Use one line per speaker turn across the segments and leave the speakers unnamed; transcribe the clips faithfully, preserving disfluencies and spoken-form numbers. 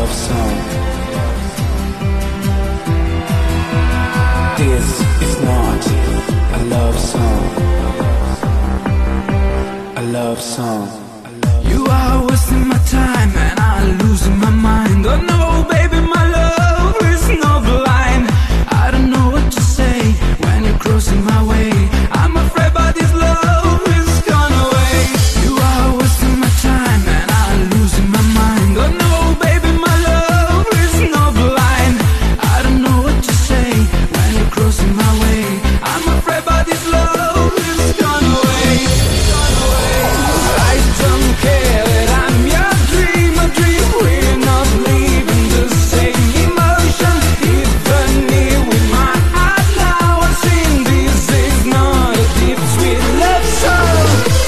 love song. This is not a love song. A love song. You are wasting my time and I'm losing my mind. Oh no, baby, my love is not blind. I don't know what to say when you're crossing my way. I'm afraid by this love is gone away. You are wasting my time and I'm losing my mind. Oh no, baby, my love is not blind. I don't know what to say when you're crossing my way. I'm afraid by this love is gone away. Gone away. I don't care that I'm your dream, a dream. We're not living the same emotion. Even here with my heart now I've seen this is not a deep sweet love song.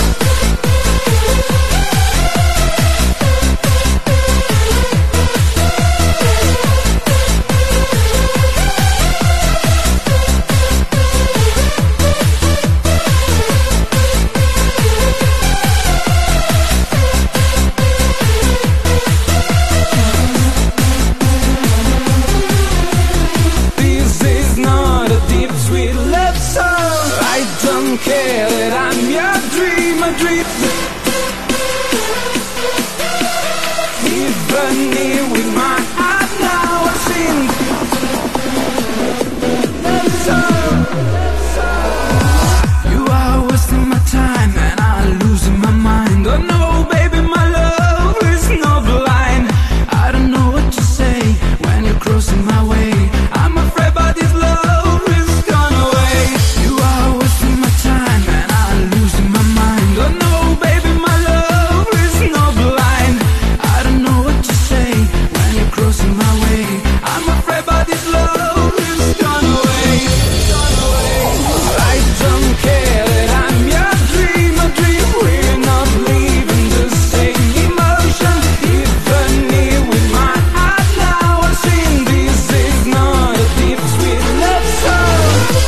This is not a deep sweet love song. I don't care that I'm your dream, a dream. Even here with my heart now I've seen love song. You are wasting my time and I'm losing my mind. Oh no, baby, my love is not blind. I don't know what to say when you're crossing my way. I'm afraid by this love is gone away. You are wasting my time and I'm losing my mind. Oh no, baby, my love is not blind. I don't know what to say when you're crossing my way. I'm afraid by this love is gone away. Gone away. I don't care that I'm your dream, a dream. We're not living the same emotion. Even here with my heart now I've seen this is not a deep sweet love song.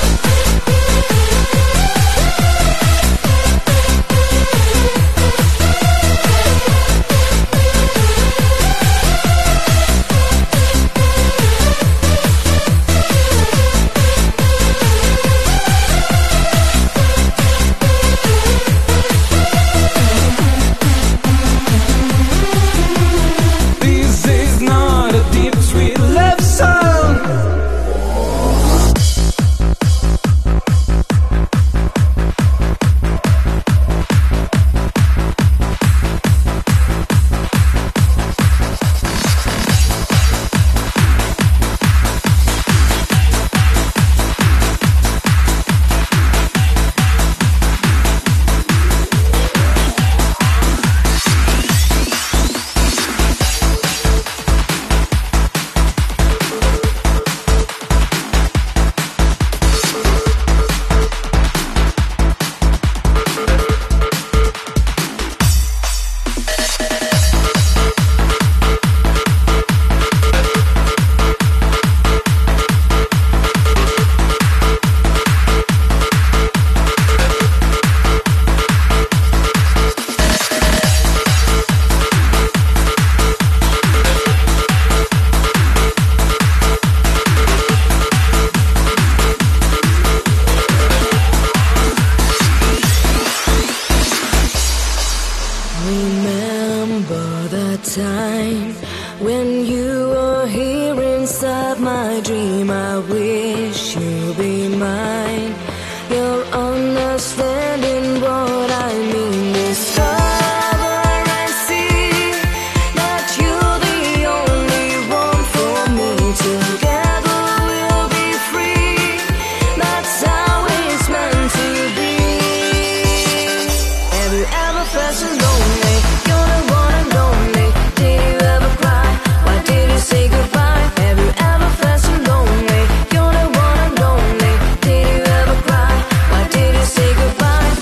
This is not a deep sweet love song.
Remember the time when you were here inside my dream. I wish you'd be mine. You'll understanding what I mean. Discover and see that you're the only one for me. Together we'll be free. That's how it's meant to be. Have you ever felt so lonely? You're the one and only. Did you ever cry? Why did you say goodbye? Have you ever felt so lonely? You're the one and only. Did you ever cry? Why did you say goodbye?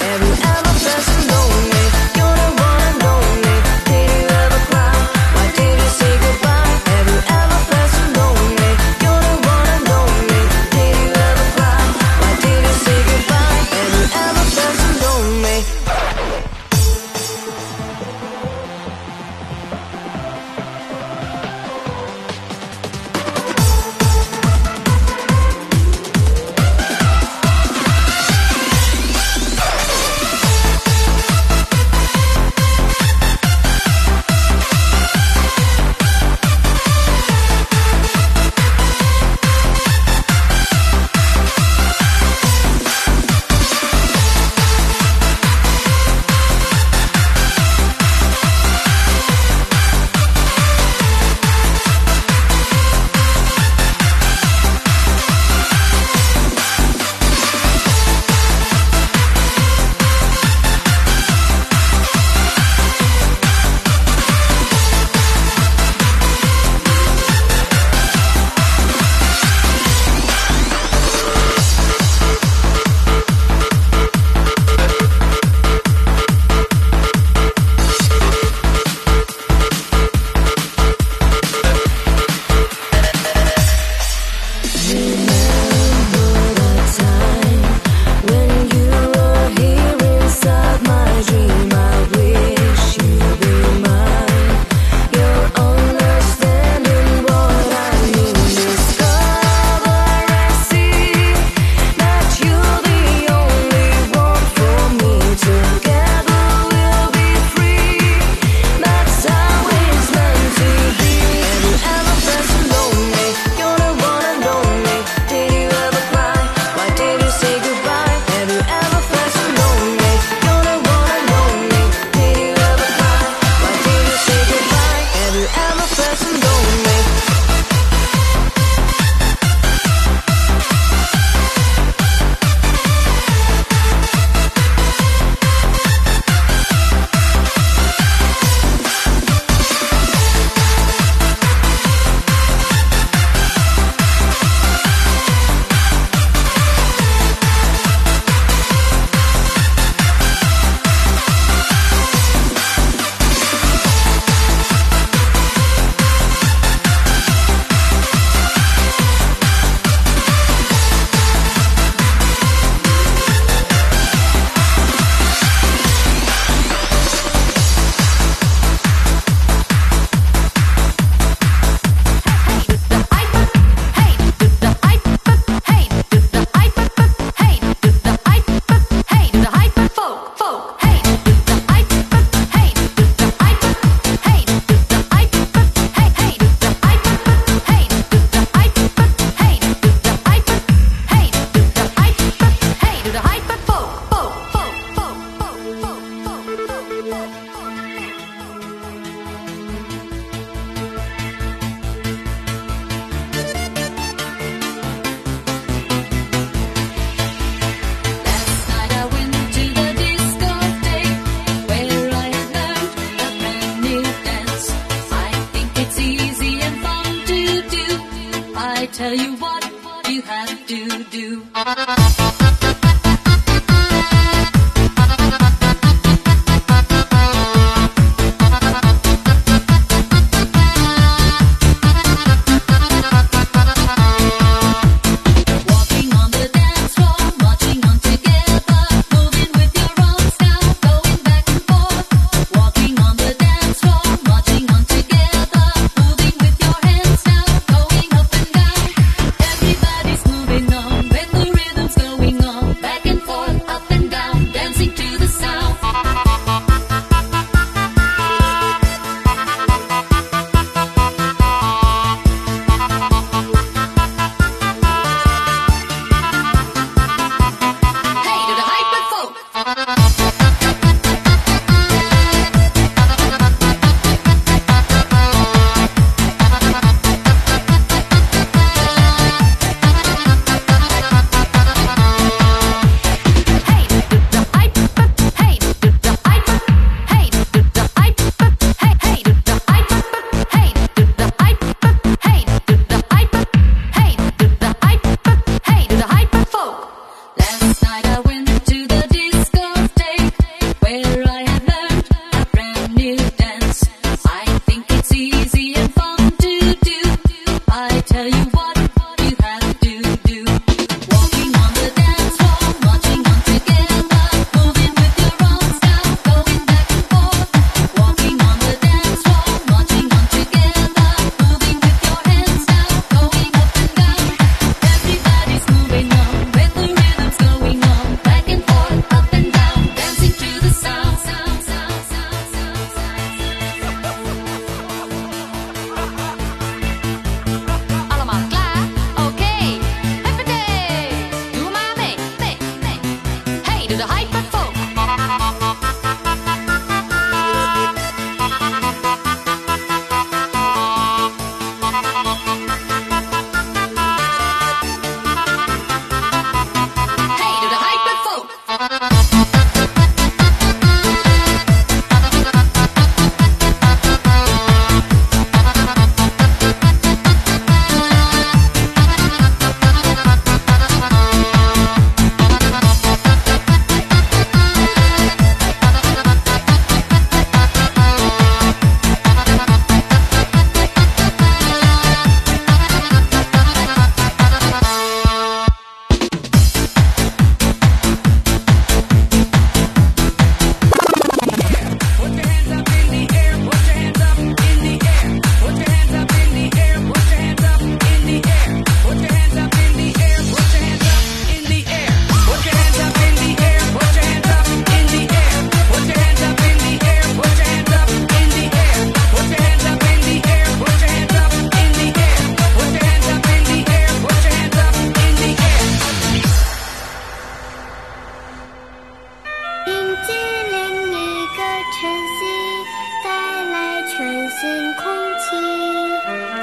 person, don't me.
Tell you what you have to do.
Going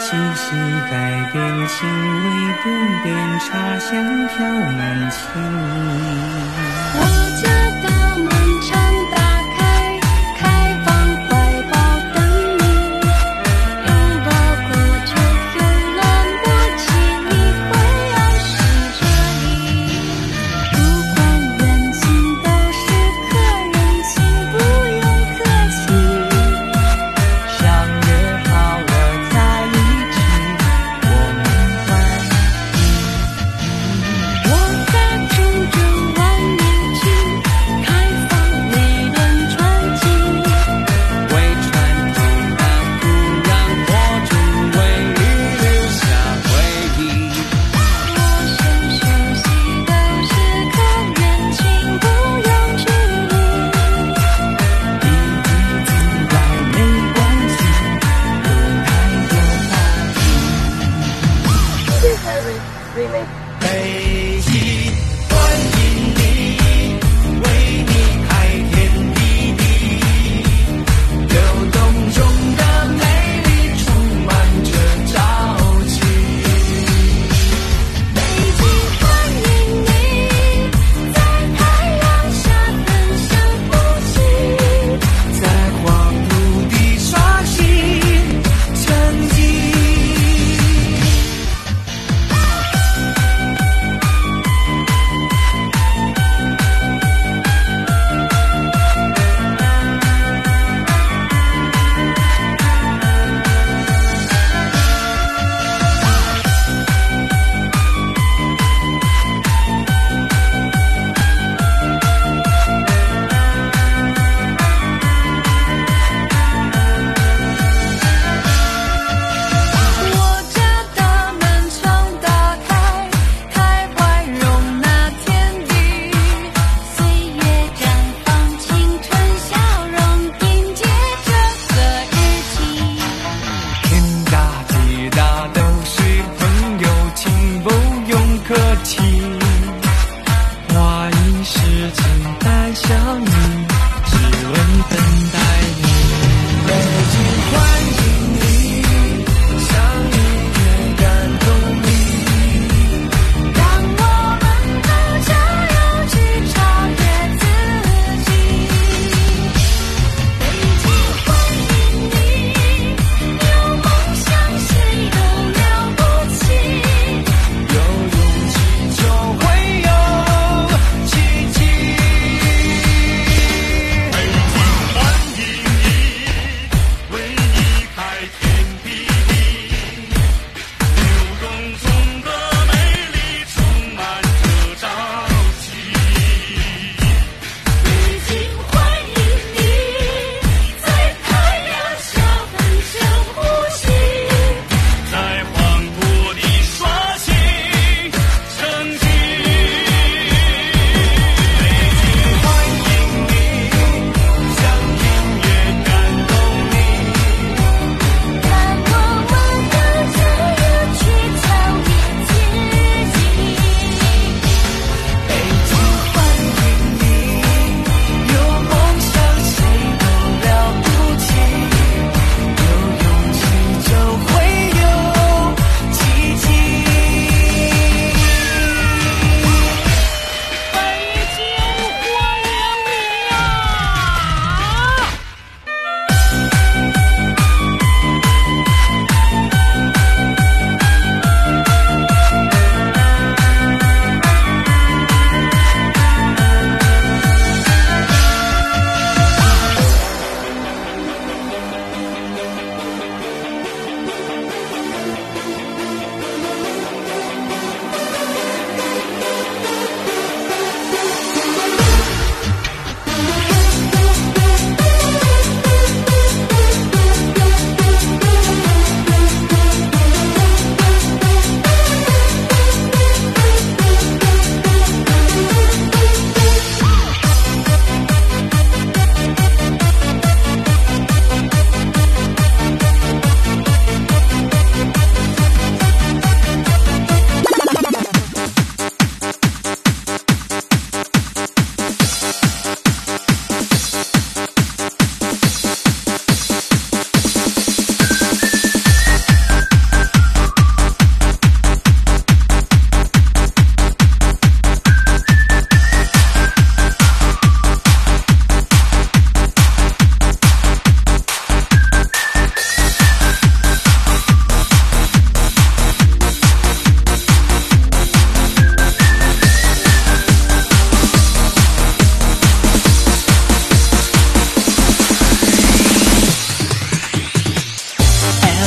细细改变，情味不变，茶香飘满情。
我家大门常打开，开放怀抱等你，拥抱过就有了默契，你会爱是这里。不管远近都是客人，请不用客气。
相约好了在一起，我们欢
我在途中万年情，开放每段传奇。
为传统的土壤播种，为你留下回忆。
我想休息都是客人，请不用距离。
第一次来没关系，有太多话题。北极欢迎你，为你开天辟地，流动中的美丽充满着朝气。
北京欢迎你，在太阳下分享呼吸。
在黄土地刷新沉寂。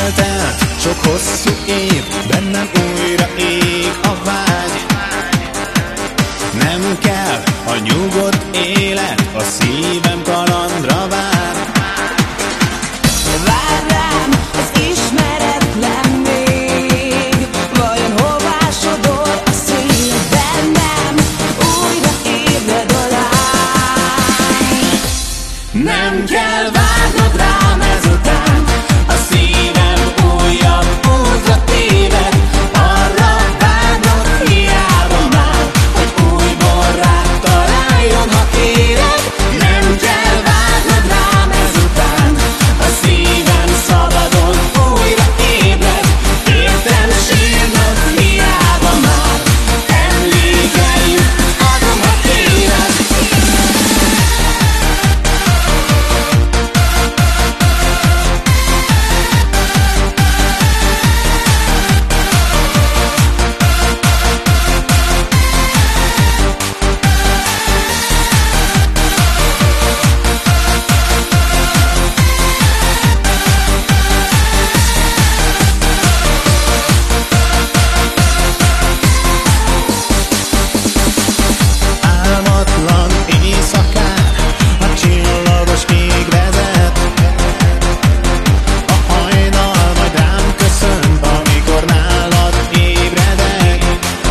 Eltelt sok hosszú év, bennem újra ég a vágy. Nem kell a nyugodt élet, a szívem kalandra vár.
Vár rám az ismeretlen még, vajon hová sodor a szél bennem, újra ébred a lány.
Nem kell várnod rám ezután, a szívem újabb útra téved. Arra várnod hiába már, hogy újból rád találjon, ha kéred. Nem kell várnod rám ezután, a szívem szabadon újra ébred. Értem sírnod hiába már, emlékeim adom, ha kéred. Álmatlan éjszakán a csillagos ég vezet. A hajnal majd rám köszönt, amikor nálad ébredek.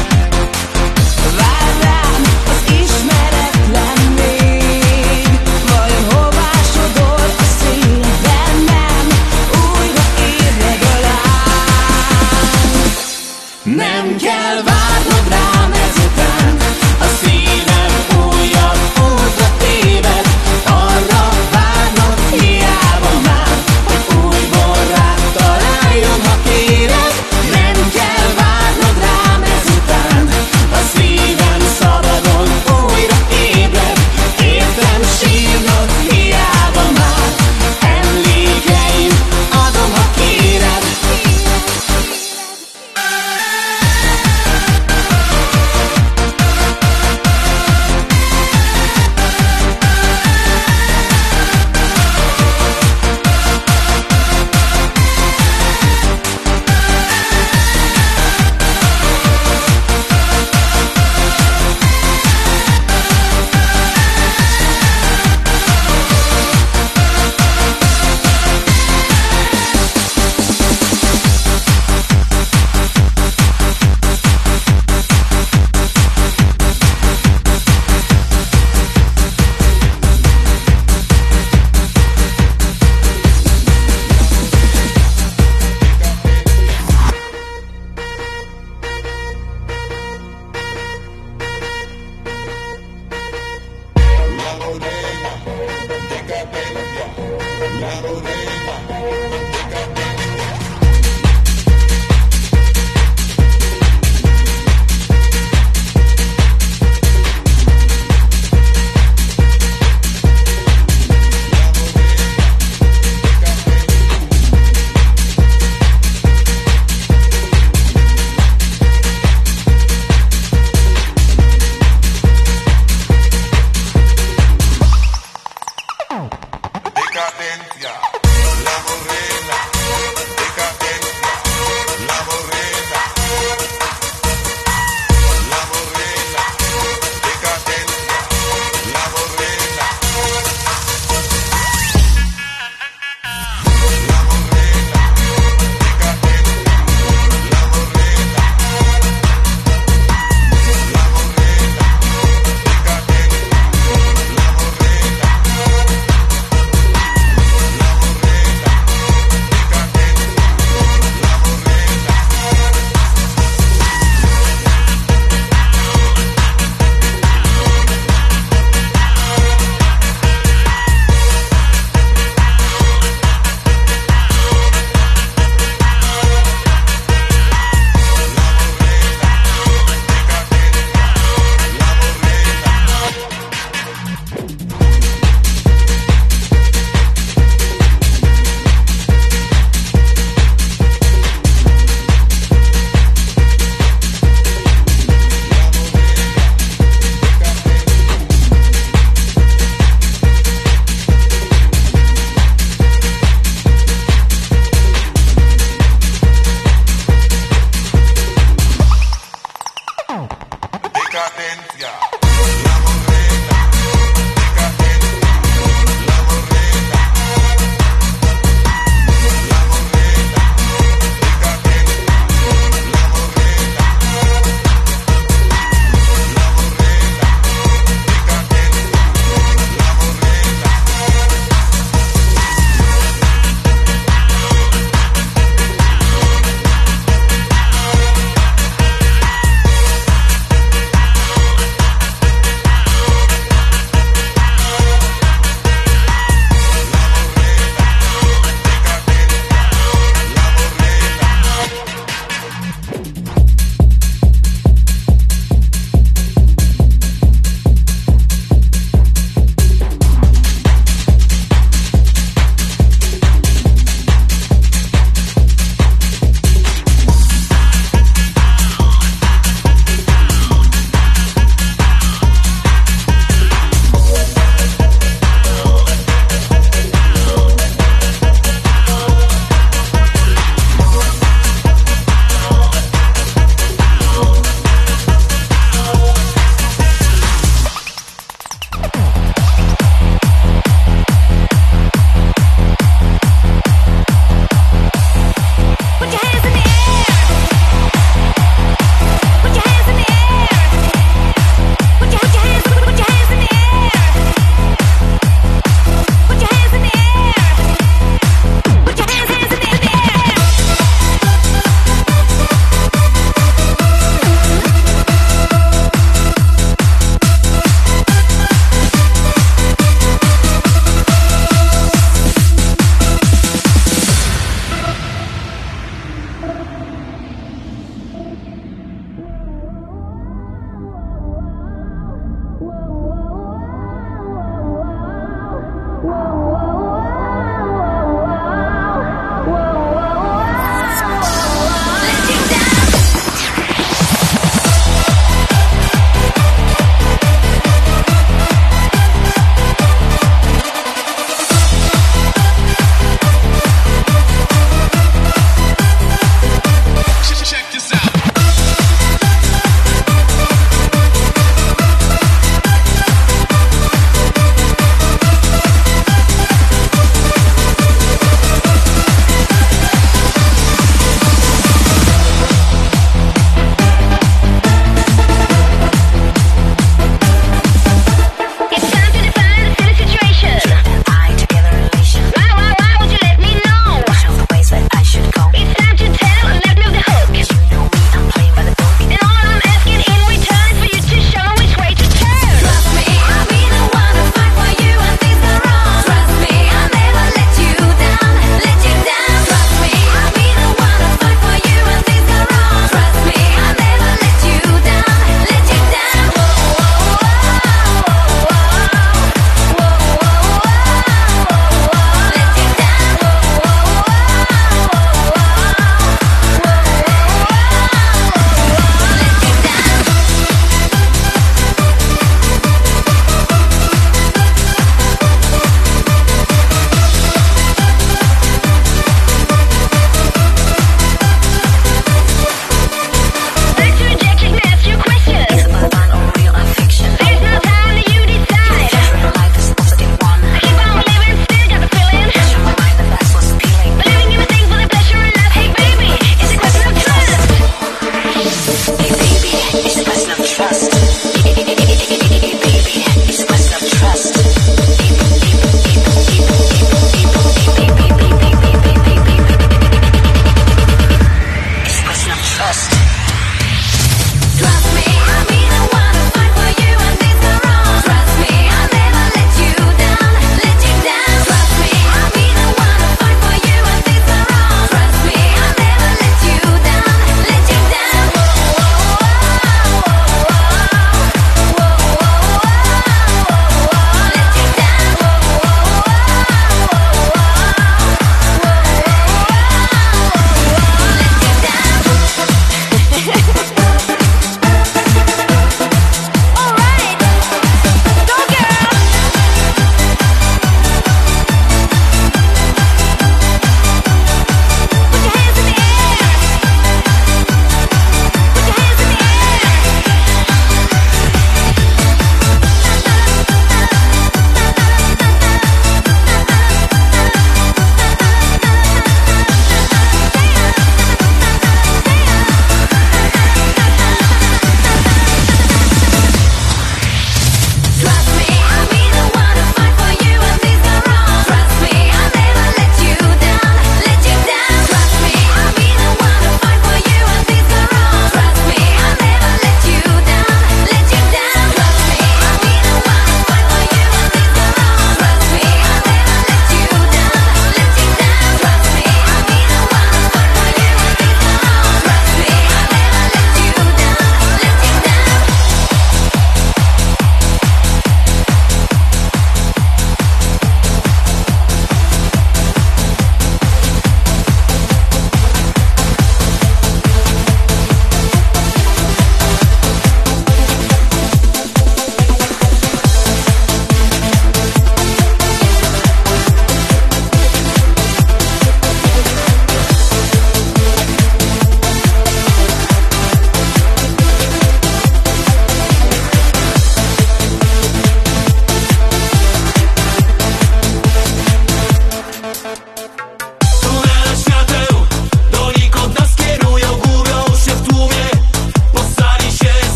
Vár rám az ismeretlen még, vajon hová sodor a szél bennem, újra ébred a lány.
Nem kell várnod rám ezután, a szívem újabb útra téved. Arra várnod hiába már, hogy újból rád találjon, ha kéred. Nem kell várnod rám ezután, a szívem szabadon újra ébred. Értem sírnod hiába már, emlékeim adom, ha kéred.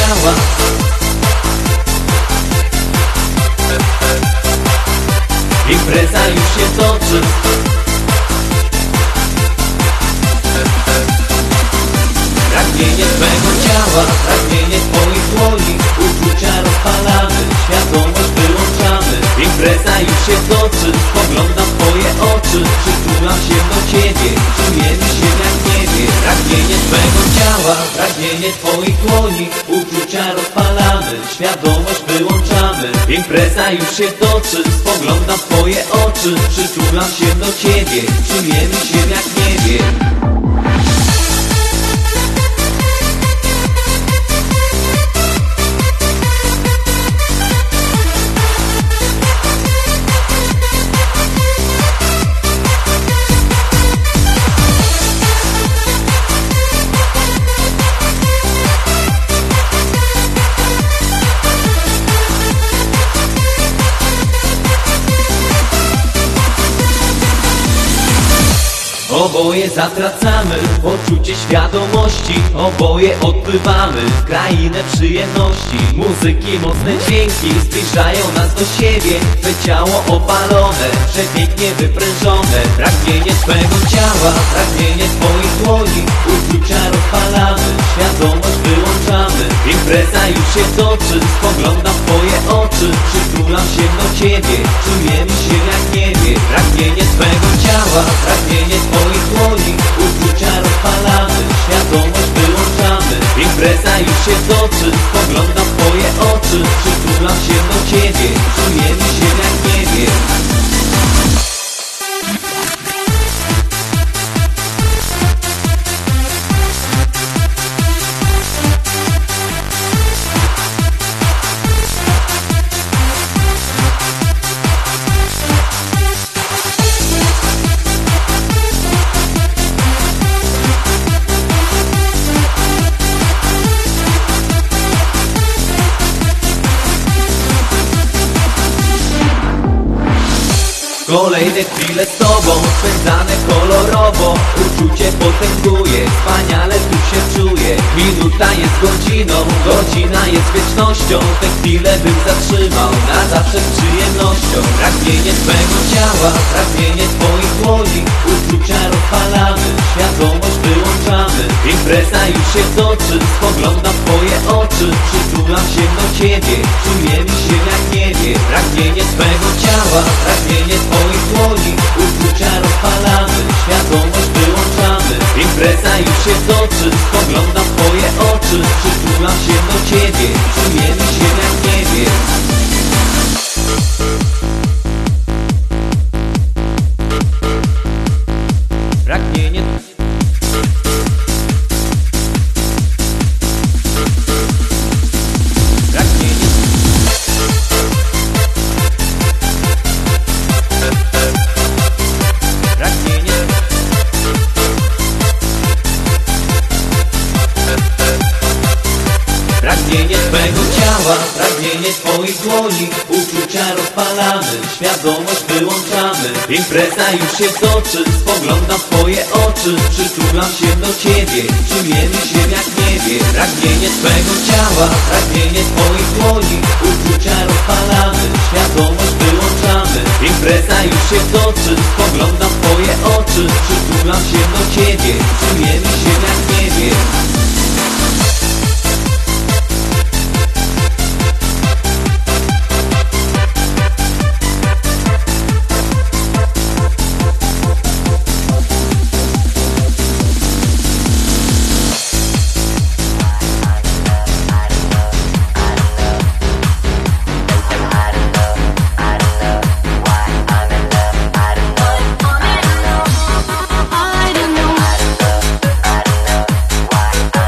ciała. Impreza już się toczy. Pragnienie twego ciała, pragnienie twoich dłoni, uczucia rozpalamy, świadomość wyłączamy. Impreza już się toczy, spoglądam w twoje oczy, przytulam się do ciebie, czujemy się jak w niebie. Pragnienie twego ciała, pragnienie twoich dłoni, uczucia rozpalamy, świadomość wyłączamy. Impreza już się toczy, spoglądam w twoje oczy, przytulam się do ciebie, czujemy się jak w niebie. Oboje zatracamy poczucie świadomości, oboje odpływamy w krainę przyjemności. Muzyki, mocne dźwięki zbliżają nas do siebie. Twe ciało opalone, przepięknie wyprężone. Pragnienie twego ciała, pragnienie twoich dłoni, uczucia rozpalamy, świadomość wyłączamy. Impreza już się toczy, spoglądam w twoje oczy, przytulam się do ciebie, czujemy się jak w niebie. Pragnienie twego ciała, pragnienie twoich dłoni, uczucia rozpalamy, świadomość wyłączamy. Impreza już się toczy, spoglądam w twoje oczy, przytulam się do ciebie, czujemy się jak w niebie. Kolejne chwile z tobą, spędzane kolorowo. Uczucie potęguje, wspaniale tu się czuję. Minuta jest godziną, godzina jest wiecznością. Te chwile bym zatrzymał, na zawsze z przyjemnością. Pragnienie twego ciała, pragnienie twoich dłoni, uczucia rozpalamy, świadomość wyłączamy. Impreza już się toczy, spoglądam w twoje oczy, przytulam się do ciebie, czujemy się jak w niebie. Pragnienie twego ciała, pragnienie twoich dłoni, uczucia rozpalamy, świadomość wyłączamy. Impreza już się toczy, spoglądam w twoje oczy, przytulam się do ciebie, czujemy się jak w niebie. Pragnienie Pragnienie twego ciała, pragnienie twoich dłoni, uczucia rozpalamy, świadomość wyłączamy. Impreza już się toczy, spoglądam w twoje oczy, przytulam się do ciebie, czujemy się jak w niebie. Pragnienie twego ciała, pragnienie twoich dłoni, uczucia rozpalamy, świadomość wyłączamy. Impreza już się toczy, spoglądam w twoje oczy, przytulam się do ciebie, czujemy się jak w niebie.
I don't know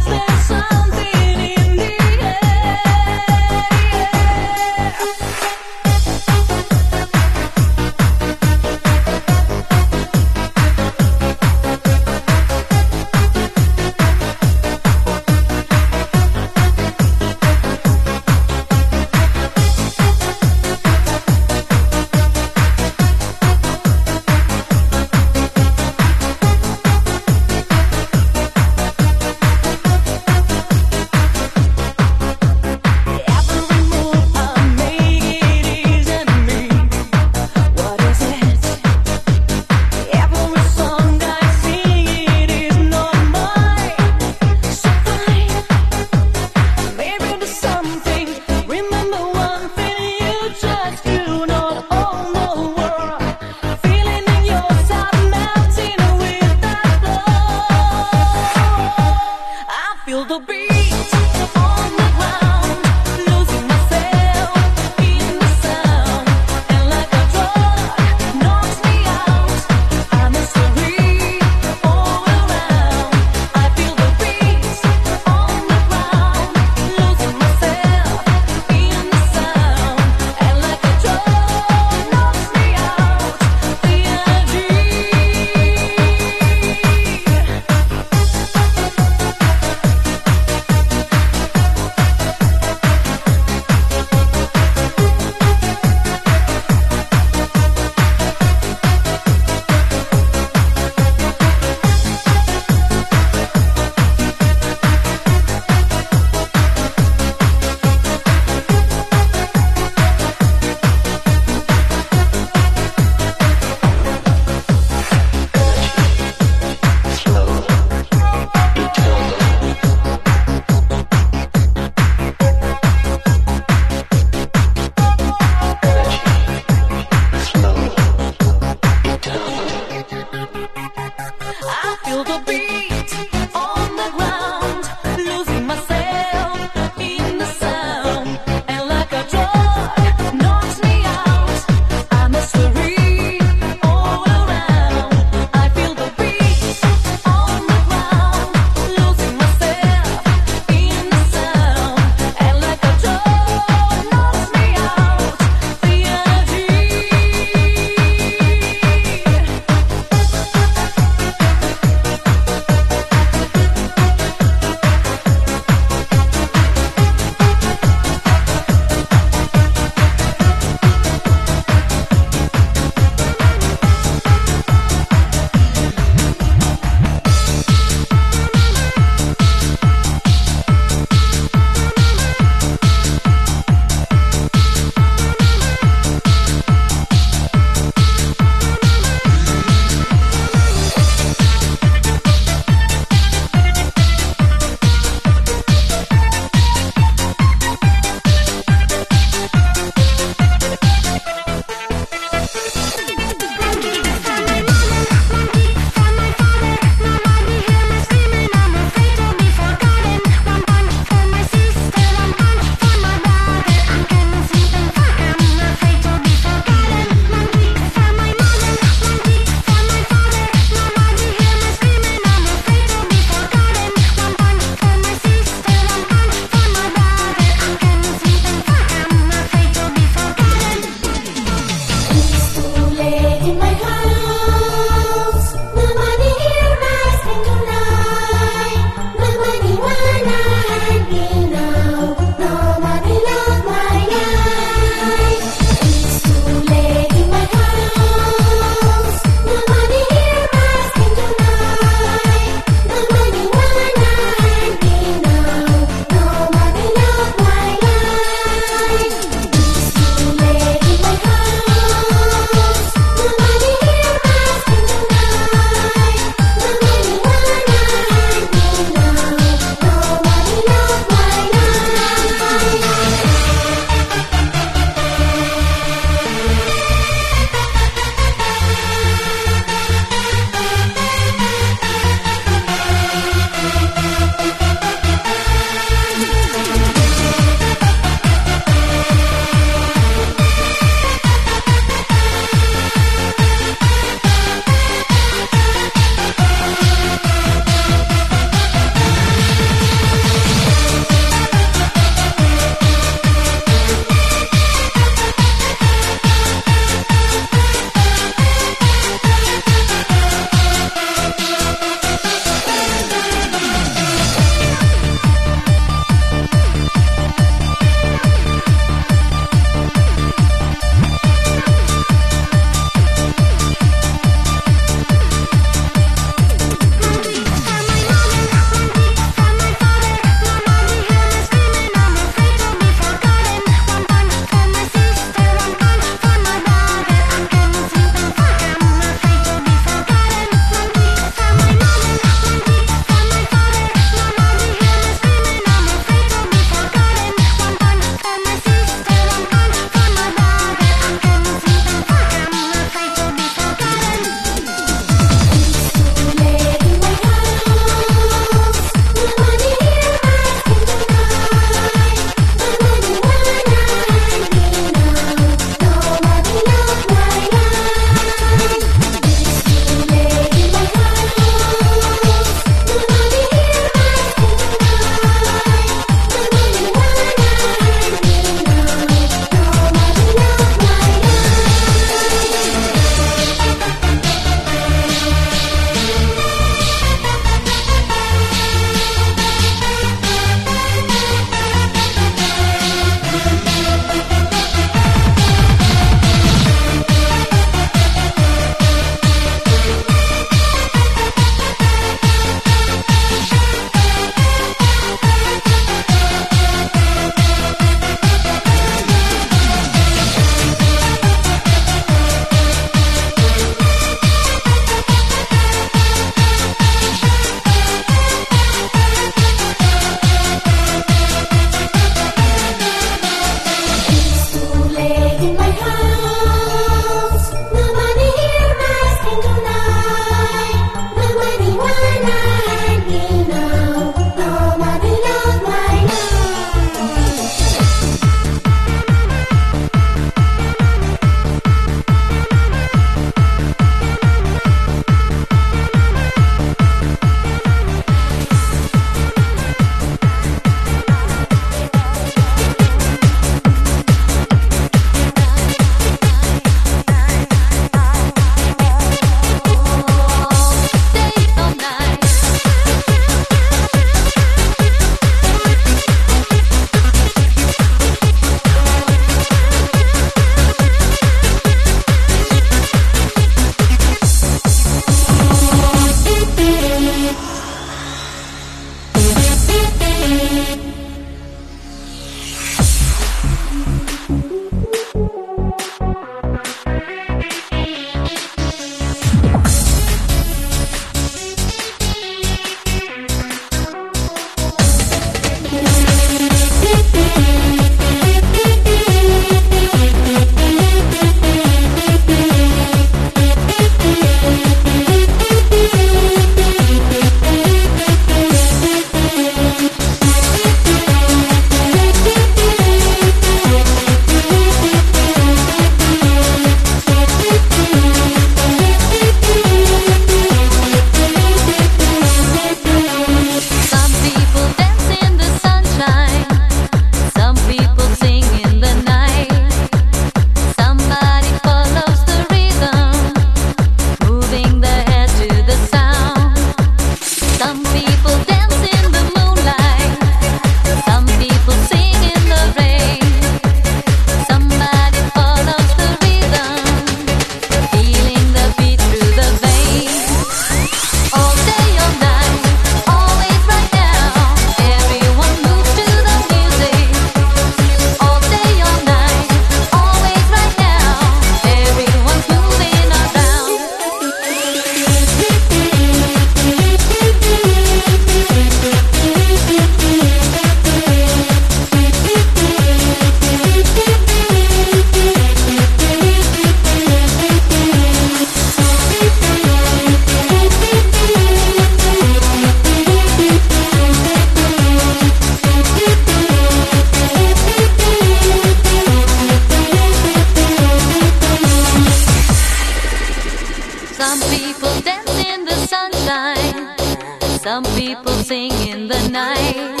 people sing in the night.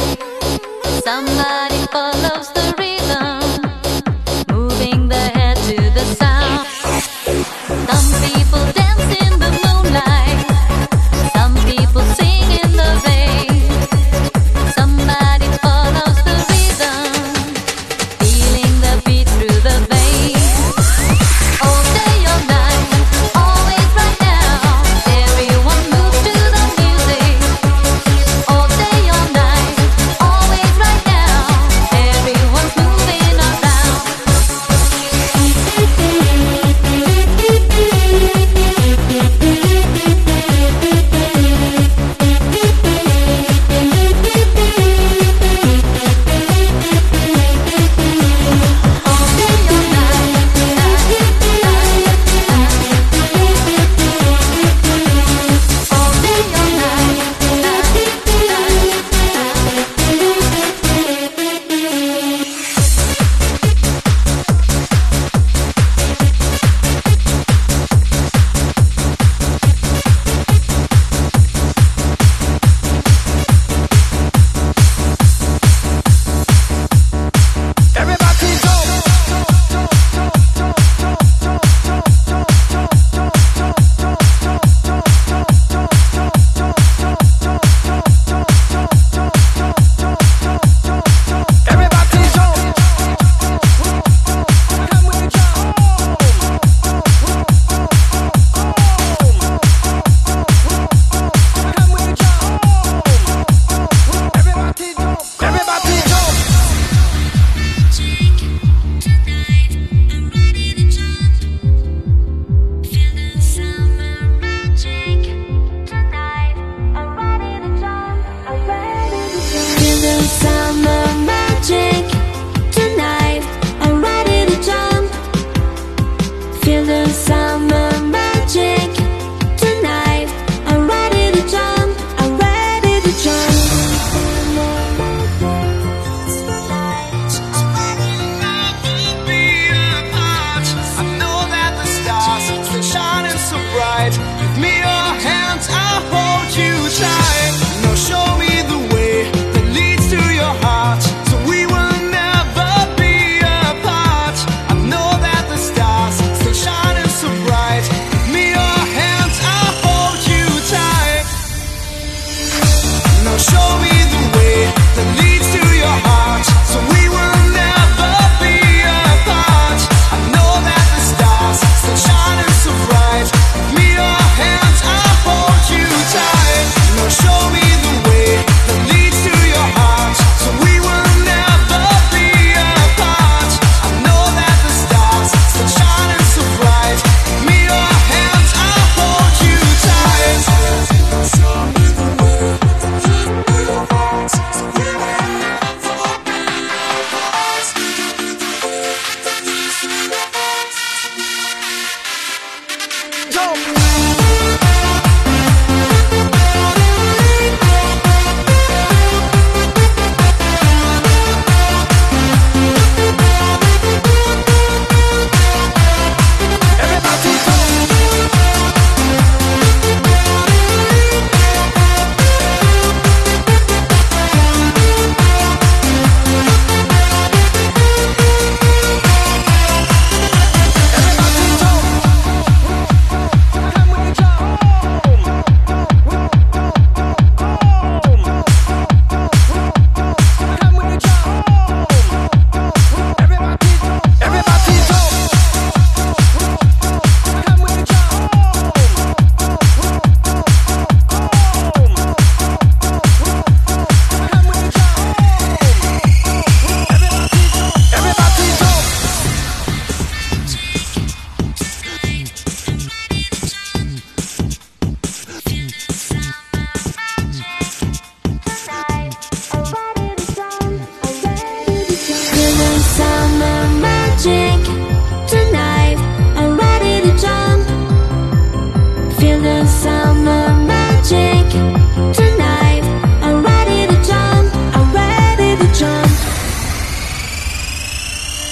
Somebody follows the rhythm, moving their head to the sound. Some people dance in the moonlight. Some people sing in the rain. Somebody follows the rhythm, feeling the beat through the veins. All day, all night, always right now. Everyone moves to the music. All day, all night, always right now. Everyone's moving around.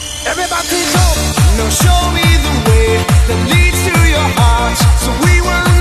Everybody jump, now show me the way that leads to your heart. So we will